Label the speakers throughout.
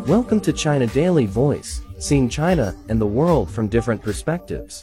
Speaker 1: Welcome to China Daily Voice, seeing China and the world from different perspectives.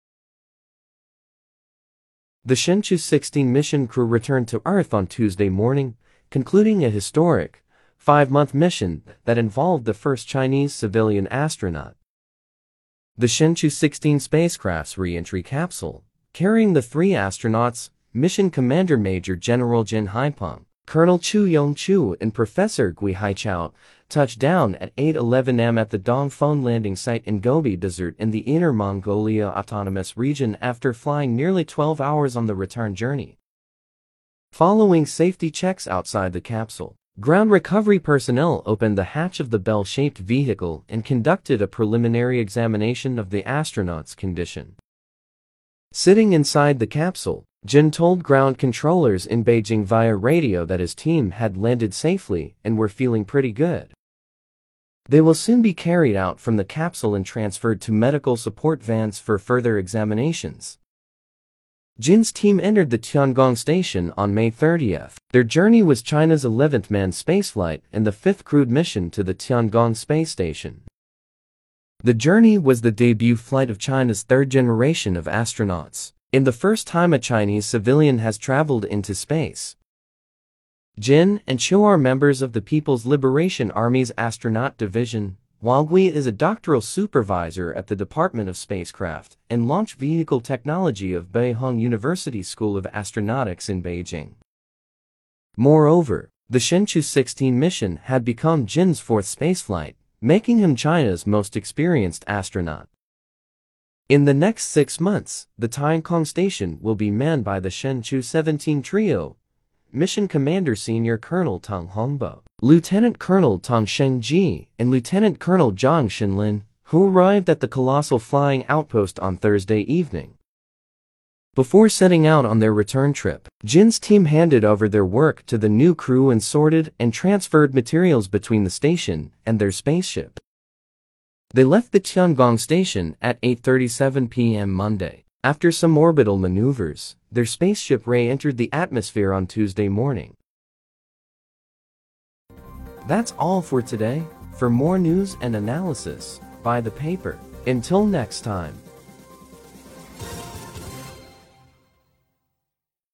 Speaker 1: The Shenzhou 16 mission crew returned to Earth on Tuesday morning, concluding a historic, 5-month mission that involved the first Chinese civilian astronaut. The Shenzhou 16 spacecraft's re-entry capsule, carrying the 3 astronauts, Mission Commander Major General Jin Haipeng, Colonel Chu Yongchu and Professor Gui Haichao, touched down at 8:11 am at the Dongfeng landing site in Gobi Desert in the Inner Mongolia Autonomous Region after flying nearly 12 hours on the return journey. Following safety checks outside the capsule, ground recovery personnel opened the hatch of the bell-shaped vehicle and conducted a preliminary examination of the astronauts' condition. Sitting inside the capsule, Jin told ground controllers in Beijing via radio that his team had landed safely and were feeling pretty good. They will soon be carried out from the capsule and transferred to medical support vans for further examinations. Jin's team entered the Tiangong station on May 30th. Their journey was China's 11th manned spaceflight and the 5th crewed mission to the Tiangong space station. The journey was the debut flight of China's 3rd generation of astronauts, and the first time a Chinese civilian has traveled into space. Jin and Chu are members of the People's Liberation Army's Astronaut Division, while Gui is a doctoral supervisor at the Department of Spacecraft and Launch Vehicle Technology of Beihang University School of Astronautics in Beijing. Moreover, the Shenzhou 16 mission had become Jin's 4th spaceflight, making him China's most experienced astronaut. In the next 6 months, the Tiangong station will be manned by the Shenzhou 17 trio, Mission Commander Senior Colonel Tang Hongbo, Lieutenant Colonel Tang Shengji, and Lieutenant Colonel Zhang Xinlin, who arrived at the colossal flying outpost on Thursday evening. Before setting out on their return trip, Jin's team handed over their work to the new crew and sorted and transferred materials between the station and their spaceship. They left the Tiangong station at 8:37 p.m. Monday. After some orbital maneuvers, their spaceship re-entered the atmosphere on Tuesday morning. That's all for today. For more news and analysis, buy the paper. Until next time.